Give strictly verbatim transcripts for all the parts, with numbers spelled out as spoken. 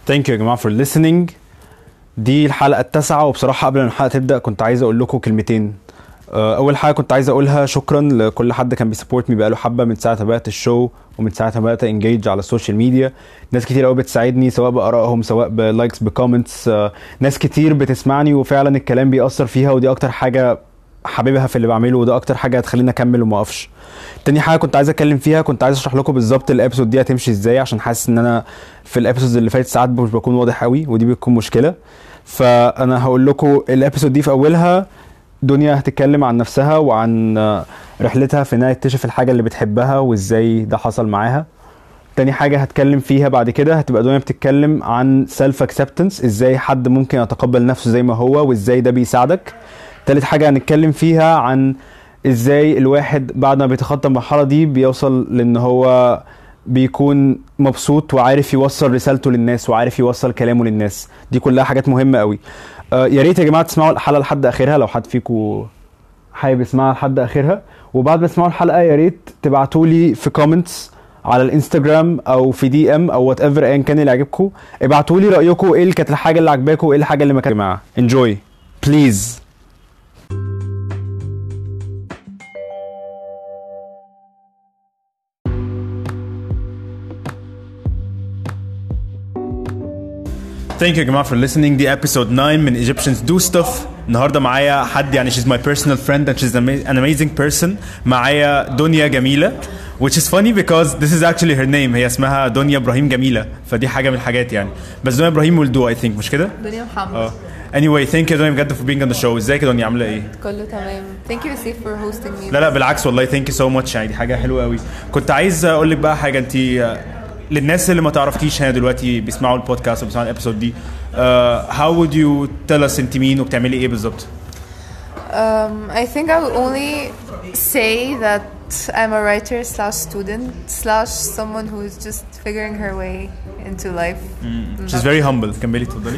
Thank you يا جماعة for listening. دي الحلقة التاسعة، وبصراحة قبل ما الحلقة تبدأ كنت عايز أقول لكم كلمتين. أول حاجة كنت عايز أقولها شكرا لكل حد كان بيسبورت مي بقاله حبة من ساعة بدأت الشو ومن ساعة بدأت انجيج على السوشيال ميديا. ناس كتير قوي بتساعدني سواء بآرائهم سواء بلايكس بكومنتس. ناس كتير بتسمعني وفعلا الكلام بيأثر فيها، ودي أكتر حاجة حبيبها في اللي بعمله، وده أكتر حاجة هتخليني أكمل وما أقفش. تاني حاجة كنت عايز أتكلم فيها، كنت عايز أشرح لكم بالظبط الابيسود دي هتمشي إزاي، عشان حاسس إن أنا في الابيسودز اللي فاتت ساعات مش بكون واضح قوي، ودي بتكون مشكلة. فأنا هقول لكم الابيسود دي في أولها دنيا هتتكلم عن نفسها وعن رحلتها في انها تكتشف الحاجة اللي بتحبها وازاي ده حصل معاها. تاني حاجة هتكلم فيها بعد كده هتبقى دنيا بتتكلم عن self acceptance، ازاي حد ممكن يتقبل نفسه زي ما هو وازاي ده بيساعدك. تالت حاجة هنتكلم فيها عن ازاي الواحد بعد ما بيتخطى المرحلة دي بيوصل لان هو بيكون مبسوط وعارف يوصل رسالته للناس وعارف يوصل كلامه للناس. دي كلها حاجات مهمة قوي. آه يا ريت يا جماعة تسمعوا الحلقة لحد اخرها لو حد فيكم حابب يسمعها لحد اخرها. وبعد ما تسمعوا الحلقة يا ريت تبعتوا لي في كومنتس على الانستجرام او في دي ام او وات ايفر ايا كان اللي عجبكم. ابعتوا لي رايكم ايه اللي كانت الحاجه اللي عجباكم وايه الحاجه اللي ما كانتش. يا جماعه انجوي بليز. Thank you يا جماعة for listening. دي episode nine من Egyptians do stuff. النهاردة معايا حد يعني she's my personal friend and she's an amazing person. معايا دنيا جميلة which is funny because this is actually her name. هي اسمها دنيا إبراهيم جميلة، فدي حاجة من الحاجات يعني. بس دنيا إبراهيم will do I think، مش كده؟ دنيا محمد. اه anyway thank you دنيا بجد for being on the show. ازيك يا دنيا، عاملة ايه؟ كله تمام. thank you Steve for hosting me. لا لا بالعكس والله thank you so much، يعني دي حاجة حلوة قوي. كنت عايز اقول لك بقى حاجة، انتي للناس اللي ما تعرفتيش هنا دلوقتي بيسمعوا البودكاست وبيسمعوا الابيسود دي uh, how would you tell us انت مين وبتعملي ايه بالظبط؟ Um, I think I would only say that I'm a writer slash student slash someone who is just figuring her way into life. Mm. She's very humble. كملي تفضلي.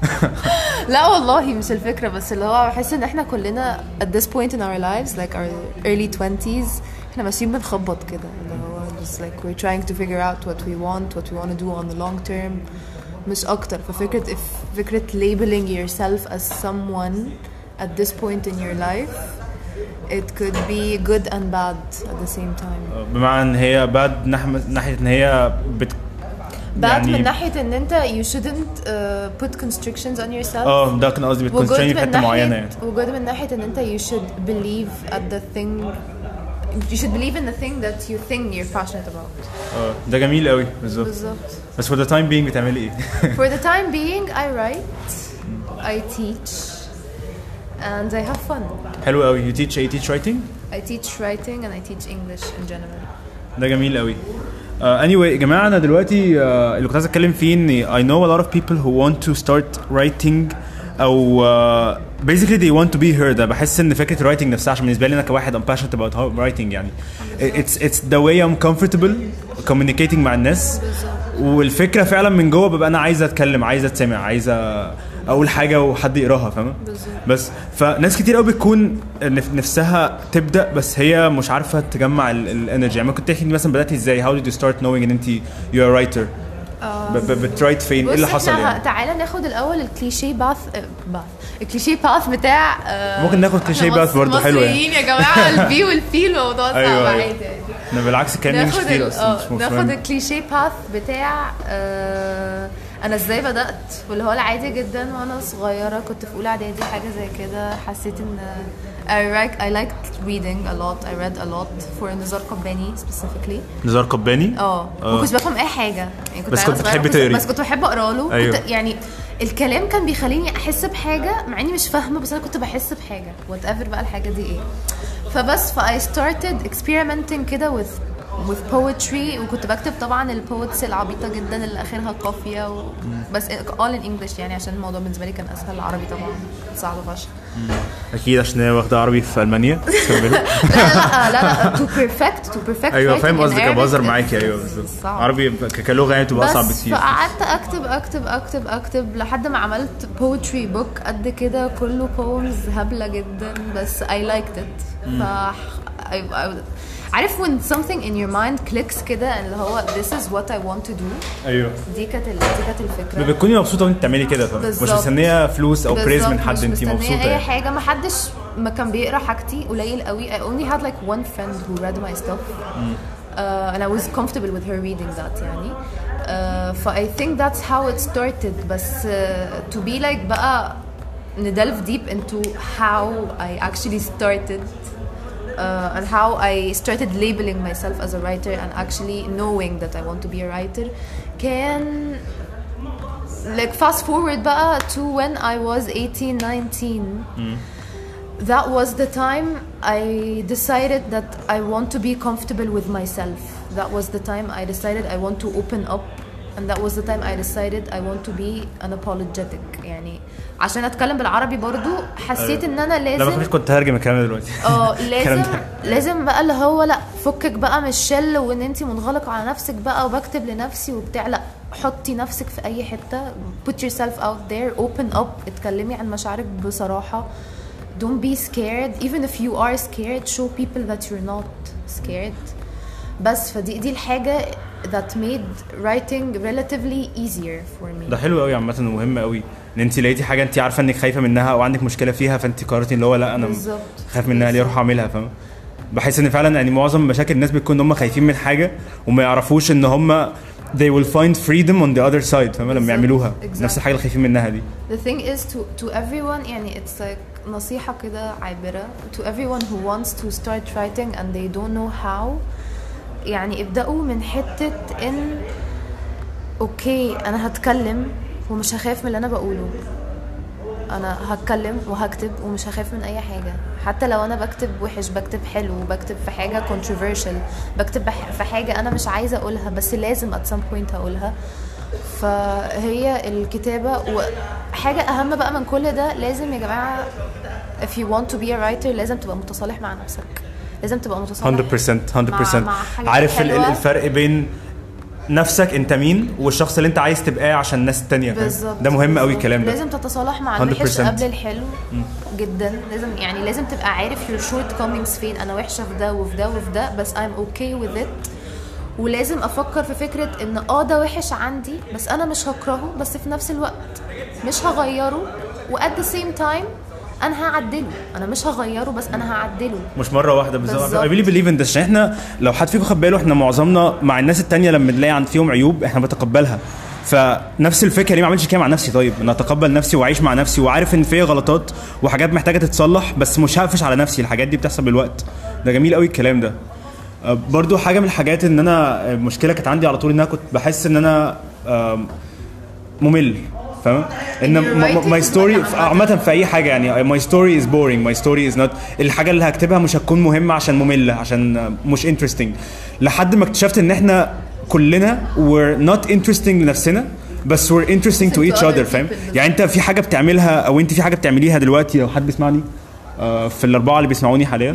لا والله مش الفكرة، بس اللي هو بحس ان احنا كلنا at this point in our lives like our early twenties احنا ماشيين بنخبط كده، اللي هو just like we're trying to figure out what we want what we want to do on the long term مش اكتر. ففكرة if فكرة labeling yourself as someone at this point in your life it could be good and bad at the same time. بمعنى ان هي bad ناحية ان هي بت bad يعني من ناحية ان انت you shouldn't uh, put constrictions on yourself. اه ده كان قصدي بتكونسترين في حتة معينة يعني. وجود من ناحية ان انت you should believe at the thing you should believe in the thing that you think you're passionate about. اه ده جميل قوي بالظبط. بالظبط. بس for the time being بتعملي ايه؟ for the time being I write, I teach and I have fun. حلو قوي. you teach you teach writing? I teach writing and I teach English in general. ده جميل قوي. Uh, anyway يا جماعة أنا دلوقتي uh, اللي كنت عايز أتكلم فيه إني I know a lot of people who want to start writing أو uh, basically they want to be heard. بحس إن فكرة writing نفسها عشان بالنسبة لي أنا كواحد I'm passionate about writing يعني it's it's the way I'm comfortable communicating مع الناس، والفكرة فعلا من جوه ببقى أنا عايز أتكلم، عايز أتسمع، عايز أقول حاجة وحد يقراها، فاهمة؟ بس فناس كتير قوي بتكون نفسها تبدأ بس هي مش عارفة تجمع الانرجي. يعني ممكن تحكي مثلا بدأتي ازاي؟ how did you start knowing ان انت you're a writer؟ بترايت فين؟ ايه اللي حصل يعني؟ تعالى ناخد الاول الكليشيه باث باث الكليشيه باث بتاع ممكن ناخد كليشيه باث برضه حلو يعني. يا جماعه البي والفي الموضوع صعب عادي. انا بالعكس كان مش كتير اصلا. ناخد الكليشيه باث بتاع آه انا ازاي بدات، واللي هو العادي جدا وانا صغيره كنت في اولى اعدادي حاجه زي كده. حسيت ان I like I liked reading a lot. I read a lot for نزار قباني specifically. نزار قباني؟ اه ما كنتش بفهم اي حاجه يعني، كنت بس كنت بتحبي تقري؟ بس كنت بحب اقرا له. أيوه. كنت يعني الكلام كان بيخليني احس بحاجه مع اني مش فاهمه، بس انا كنت بحس بحاجه whatever بقى الحاجه دي ايه. فبس ف I started experimenting كده with with poetry، وكنت بكتب طبعا البوتس العبيطه جدا اللي اخرها قافيه و... بس all in English يعني عشان الموضوع بالنسبه لي كان اسهل. العربي طبعا صعب فشخ. اكيد عشان هي واخده عربي في المانيا. لا لا لا لا to perfect to perfect. ايوه فاهم قصدك، بهزر معاكي. ايوه بالظبط. عربي كلغه يعني بتبقى اصعب بكتير. فقعدت اكتب اكتب اكتب اكتب لحد ما عملت poetry book قد كده كله poems هبله جدا، بس I liked it. ف I, I عارف when something in your mind clicks كده اللي هو this is what I want to do. ايوه دي كانت دي كانت الفكره. بتكوني مبسوطه وانت بتعملي كده مش مستنيه فلوس او بريز من حد انت مبسوطه مش مستنيه اي حاجه. ما حدش ما كان بيقرا حاجتي قليل قوي. I only had like one friend who read my stuff uh, and I was comfortable with her reading that يعني uh, ف I think that's how it started. بس uh, to be like بقى ندلف deep into how I actually started uh, and how I started labeling myself as a writer and actually knowing that I want to be a writer can like fast forward بقى to when I was eighteen nineteen. mm. That was the time I decided that I want to be comfortable with myself. That was the time I decided I want to open up and that was the time I decided I want to be unapologetic. يعني عشان اتكلم بالعربي برضو حسيت ان انا لازم لا ما كنت هرجم الكلام دلوقتي اه لازم لازم بقى اللي هو لا فكك بقى من الشل وان انت منغلقه على نفسك بقى وبكتب لنفسي وبتاع. لا حطي نفسك في اي حته put yourself out there open up اتكلمي عن مشاعرك بصراحه. don't be scared even if you are scared show people that you're not scared. بس فدي دي الحاجه that made writing relatively easier for me. ده حلو قوي عامه ومهم قوي ان انت لقيتي حاجه انت عارفه انك خايفه منها او عندك مشكله فيها فانت قررتي اللي هو لا انا خايف منها ليه اروح اعملها. فاهم بحس ان فعلا يعني معظم مشاكل الناس بتكون ان هم خايفين من حاجه وما يعرفوش ان هم they will find freedom on the other side. فاهم لما يعملوها exactly. نفس الحاجه اللي خايفين منها دي. the thing is to to everyone يعني it's like نصيحه كده عابره to everyone who wants to start writing and they don't know how. يعني ابدأوا من حتة ان اوكي انا هتكلم ومش هخاف من اللي انا بقوله. انا هتكلم وهكتب ومش هخاف من اي حاجة حتى لو انا بكتب وحش بكتب حلو بكتب في حاجة controversial بكتب في حاجة انا مش عايزة اقولها بس لازم at some point هقولها. فهي الكتابة وحاجة اهم بقى من كل ده لازم يا جماعة if you want to be a writer لازم تبقى متصالح مع نفسك. لازم تبقى متصالح مية بالمية مية بالمية. عارف الفرق بين نفسك انت مين والشخص اللي انت عايز تبقاه عشان الناس التانية. ده مهم قوي الكلام ده. لازم تتصالح مع الوحش قبل الحلو جدا. لازم يعني لازم تبقى عارف your shortcomings فين. انا وحشة في ده وفي ده وفي ده بس I'm okay with it. ولازم افكر في فكرة ان اه ده وحش عندي بس انا مش هكرهه بس في نفس الوقت مش هغيره و at the same time انا هعدله. انا مش هغيره بس انا هعدله مش مره واحده بالظبط. I really believe in this. عشان احنا لو حد فيكم خد باله احنا معظمنا مع الناس التانية لما نلاقي عند فيهم عيوب احنا بنتقبلها. فنفس الفكره ليه ما اعملش كده مع نفسي؟ طيب انا اتقبل نفسي واعيش مع نفسي وعارف ان فيا غلطات وحاجات محتاجه تتصلح بس مش هقفش على نفسي. الحاجات دي بتحصل بالوقت. ده جميل قوي الكلام ده. برضو حاجه من الحاجات ان انا مشكله كانت عندي على طول ان انا كنت بحس ان انا ممل. فاهم ان ماي ستوري عامه في اي حاجه يعني ماي ستوري از بورينج ماي ستوري از نوت الحاجه اللي هكتبها مش هتكون مهمه عشان ممله عشان مش انترستينج. لحد ما اكتشفت ان احنا كلنا we're not interesting لنفسنا بس we're interesting to each other. فاهم يعني انت في حاجه بتعملها او انت في حاجه بتعمليها دلوقتي لو حد بيسمعني في الاربعه اللي بيسمعوني حاليا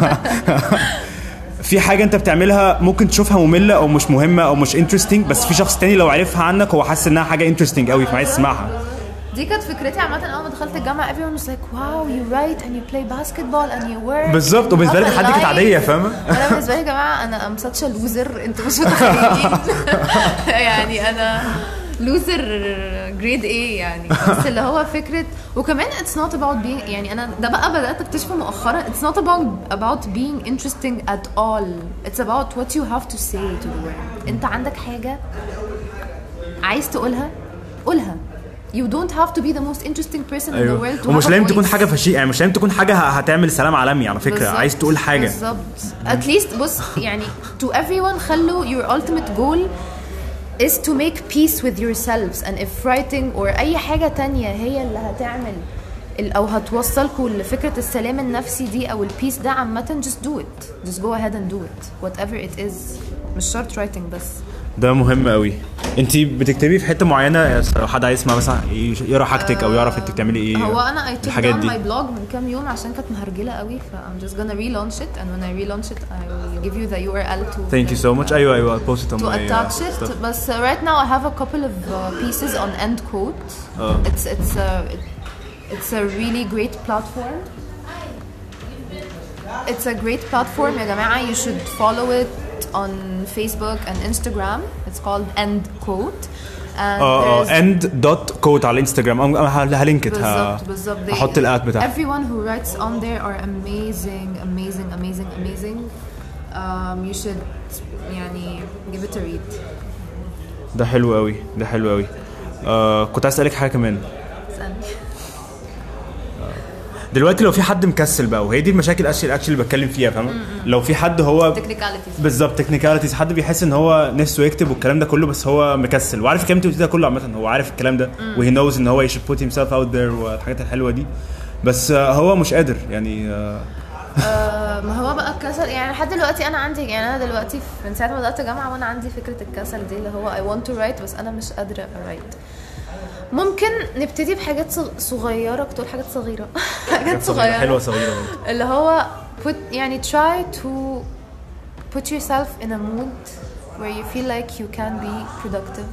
في حاجه انت بتعملها ممكن تشوفها ممله او مش مهمه او مش انترستينج بس في شخص تاني لو عرفها عنك هو حاسس انها حاجه انترستينج قوي فعايز تسمعها. دي كانت فكرتي عامه اول ما دخلت الجامعه everyone was like wow you write and you play basketball and you work بالظبط. وبالنسبه لي حد كانت عاديه. فاهمه انا بالنسبه لي يا جماعه انا ام such a loser انتوا مش متخيلين يعني انا لوزر جريد ايه يعني. بس اللي هو فكره وكمان it's not about being يعني انا ده بقى بدات اكتشفه مؤخرا it's not about about being interesting at all. it's about what you have to say to the world. انت عندك حاجه عايز تقولها قولها. you don't have to be the most interesting person أيوه. in the world. ومش لازم تكون حاجه فشيخه يعني مش لازم تكون حاجه هتعمل سلام عالمي على فكره. عايز تقول حاجه بالظبط at least بص يعني to everyone خلوا your ultimate goal is to make peace with yourselves and if writing or أي حاجة تانية هي اللي هتعمل أو هتوصلكوا لفكرة السلام النفسي دي أو البيس ده عامة just do it just go ahead and do it whatever it is. مش شرط writing بس. ده مهم قوي. انتي بتكتبي في حته معينه لو حد عايز يسمع مثلا يقرا حاجتك او يعرف انت بتعملي ايه؟ هو انا I took down my blog من كام يوم عشان كانت مهرجله قوي ف I'm just gonna relaunch it and when I relaunch it I will give you the U R L to thank you so much. ايوه ايوه I'll post it on to my attach uh, it. بس right now I have a couple of uh, pieces on end quote. oh. it's it's a it, it's a really great platform. it's a great platform يا جماعة. You should follow it on Facebook and Instagram. It's called End Quote. And اه end dot quote على الانستغرام. انا هلينك بالظبط بالظبط. احط الاد بتاعها. Everyone who writes on there are amazing amazing amazing amazing. Um, you should يعني give it a read. ده حلو قوي ده حلو قوي. آه كنت عايز اسالك حاجه كمان. اسالني. دلوقتي لو في حد مكسل بقى، وهي دي المشاكل اكشلي اكشلي اللي بتكلم فيها، فاهمه؟ لو في حد هو technicalities بالظبط technicalities، حد بيحس ان هو نفسه يكتب والكلام ده كله بس هو مكسل وعارف الكلام اللي انت ده كله عامه، هو عارف الكلام ده وهي نوز ان هو should put himself out there والحاجات الحلوه دي، بس هو مش قادر يعني. آه ما هو بقى الكسل يعني لحد دلوقتي انا عندي، يعني انا دلوقتي من ساعه ما بدات جامعه وانا عندي فكره الكسل دي اللي هو I want to write بس انا مش قادره write. ممكن نبتدي بحاجات صغيره، كنت اقول حاجات صغيره حاجات صغيره حلوه صغيره اللي هو put يعني try to put yourself in a mood where you feel like you can be productive.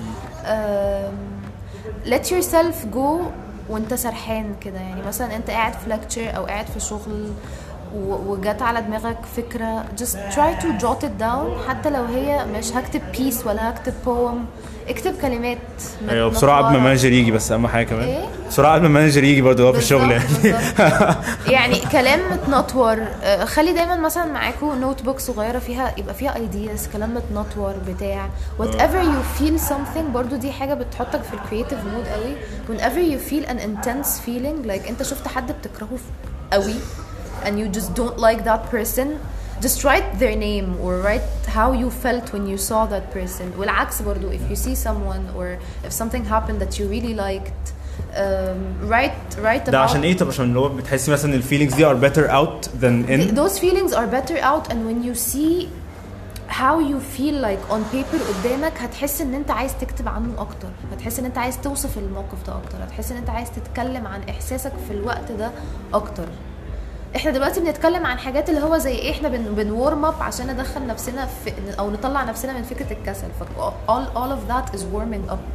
um, let yourself go وانت سرحان كده، يعني مثلا انت قاعد في lecture او قاعد في شغل وجات على دماغك فكرة just try to jot it down، حتى لو هي مش هكتب piece ولا هكتب poem، اكتب كلمات. ايوه بسرعه قبل ما المانجر يجي، بس اهم حاجه كمان إيه؟ بسرعه قبل ما المانجر يجي برضه في الشغل يعني يعني كلام متنطور. خلي دايما مثلا معاكم نوت بوك صغيره فيها يبقى فيها ايدياز، كلام متنطور بتاع whatever you feel something. برضه دي حاجه بتحطك في الكرييتيف مود قوي. whenever you feel an intense feeling like انت شفت حد بتكرهه قوي and you just don't like that person, just write their name or write how you felt when you saw that person. والعكس برضو if you see someone or if something happened that you really liked, um, write write about ده عشان ايه؟ طب عشان اللي هو بتحسي مثلا ال feelings دي are better out than in. those feelings are better out, and when you see how you feel like on paper قدامك هتحس ان انت عايز تكتب عنه اكتر، هتحس ان انت عايز توصف الموقف ده اكتر، هتحس ان انت عايز تتكلم عن احساسك في الوقت ده اكتر. احنا دلوقتي بنتكلم عن حاجات اللي هو زي ايه، احنا بن بنورم اب عشان ندخل نفسنا في او نطلع نفسنا من فكره الكسل. ف all all of that is warming up.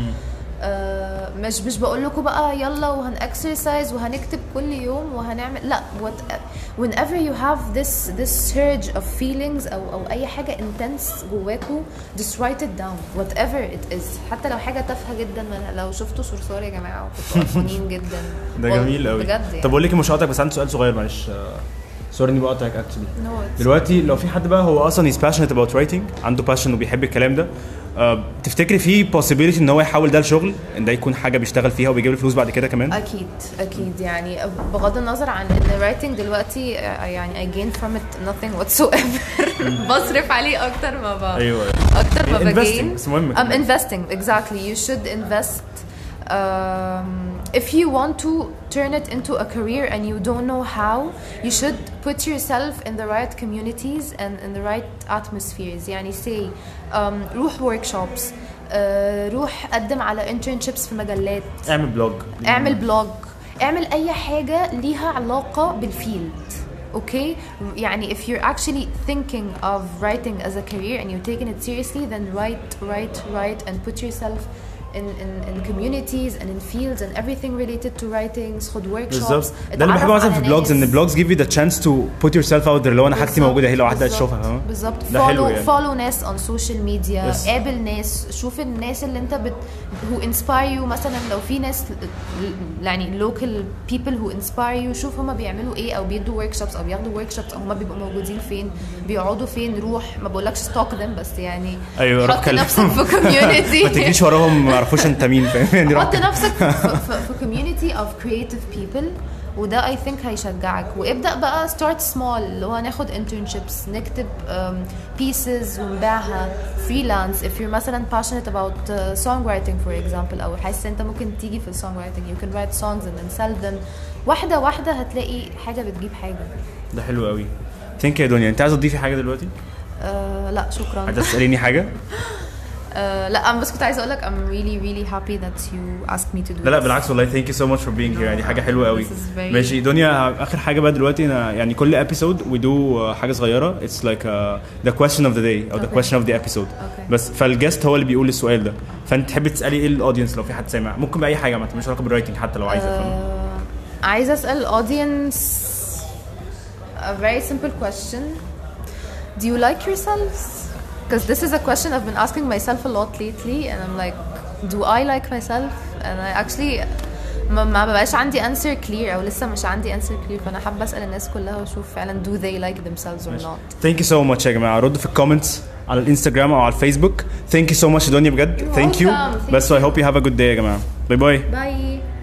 آه مش مش بقول لكم بقى يلا وهنكسرسايز وهنكتب كل يوم وهنعمل، لا. what whenever you have this this surge of feelings او او اي حاجه intense جواكوا just write it down whatever it is، حتى لو حاجه تافهه جدا. من لو شفتوا صرصار يا جماعه وكنتوا قرفانين جدا ده جميل قوي بجد يعني. طب اقول لك مش هقطعك بس عندي سؤال صغير معلش، سوري اني بقطعك اكشلي. no, دلوقتي لو في حد بقى هو اصلا is passionate about writing، عنده passion وبيحب الكلام ده، أه تفتكري في possibility ان هو يحول ده لشغل، ان ده يكون حاجه بيشتغل فيها وبيجيب له فلوس بعد كده كمان؟ اكيد اكيد يعني بغض النظر عن ان writing دلوقتي يعني I gain from it nothing whatsoever. بصرف عليه اكتر ما بقى ايوه اكتر ما بجين. بس مهم I'm investing exactly. you should invest. Um, if you want to turn it into a career and you don't know how, you should put yourself in the right communities and in the right atmospheres. يعني say um, روح workshops, uh, روح قدم على internships في مجلات، اعمل بلوج اعمل بلوج، اعمل اي حاجة ليها علاقة بالفيلد. Okay, يعني if you're actually thinking of writing as a career and you're taking it seriously, then write write write and put yourself in in in communities and in fields and everything related to writing. خد workshops. ده اللي بحبه مثلا في البلوجز، ان البلوجز give you the chance to put yourself out there. لو انا حاجتي موجوده هي لو واحده تشوفها، فاهم؟ بالظبط. follow يعني. follow ناس on social media. yes. قابل ناس، شوف الناس اللي انت بت who inspire you. مثلا لو في ناس يعني local people who inspire you، شوف هما بيعملوا ايه او بيدوا workshops او بياخدوا workshops او هما بيبقوا موجودين فين، بيقعدوا فين. روح، ما بقولكش stalk them بس يعني ايوه حط نفسك في community. ما تجيش وراهم ما يعرفوش انت مين، فاهم؟ حط نفسك في community of creative people وده I think هيشجعك. وابدأ بقى start small، اللي هو ناخد internships، نكتب um, pieces ونبيعها freelance. if you're مثلا passionate about uh, songwriting for example، أو حاسس انت ممكن تيجي في songwriting، you can write songs and then sell them. واحدة واحدة هتلاقي حاجة بتجيب حاجة. ده حلو قوي. ثانك يو يا دنيا. انت عايزة تضيفي حاجة دلوقتي؟ uh, لا شكرا. عايزة تسأليني حاجة؟ Uh, لا أنا بس كنت عايزة أقولك I'm really really happy that you asked me to do لا لا this. بالعكس والله thank you so much for being here. يعني حاجة حلوة قوي. very... ماشي دنيا، آخر حاجة بقى دلوقتي، أنا يعني كل episode we do uh, حاجة صغيرة. it's like uh, the question of the day أو okay. the question of the episode. okay. بس فالجست هو اللي بيقول السؤال ده، فأنت تحبي تسألي إيه الأودينس لو في حد سامع؟ ممكن بأي حاجة مش علاقة بالرايتنج حتى لو عايزة. uh, عايزة أسأل الأودينس a very simple question. Do you like yourselves? Because this is a question I've been asking myself a lot lately, and I'm like, do I like myself? And I actually ما ما بقاش عندي answer clear او لسه مش عندي answer clear. فانا حابه اسال الناس كلها واشوف فعلا do they like themselves or not. Thank you so much يا جماعه. ردوا في الكومنتس على الانستغرام او على الفيسبوك. Thanك يو سو ماتش دنيا بجد. ثانك يو. بس I hope you have a good day يا جماعه. باي باي. باي.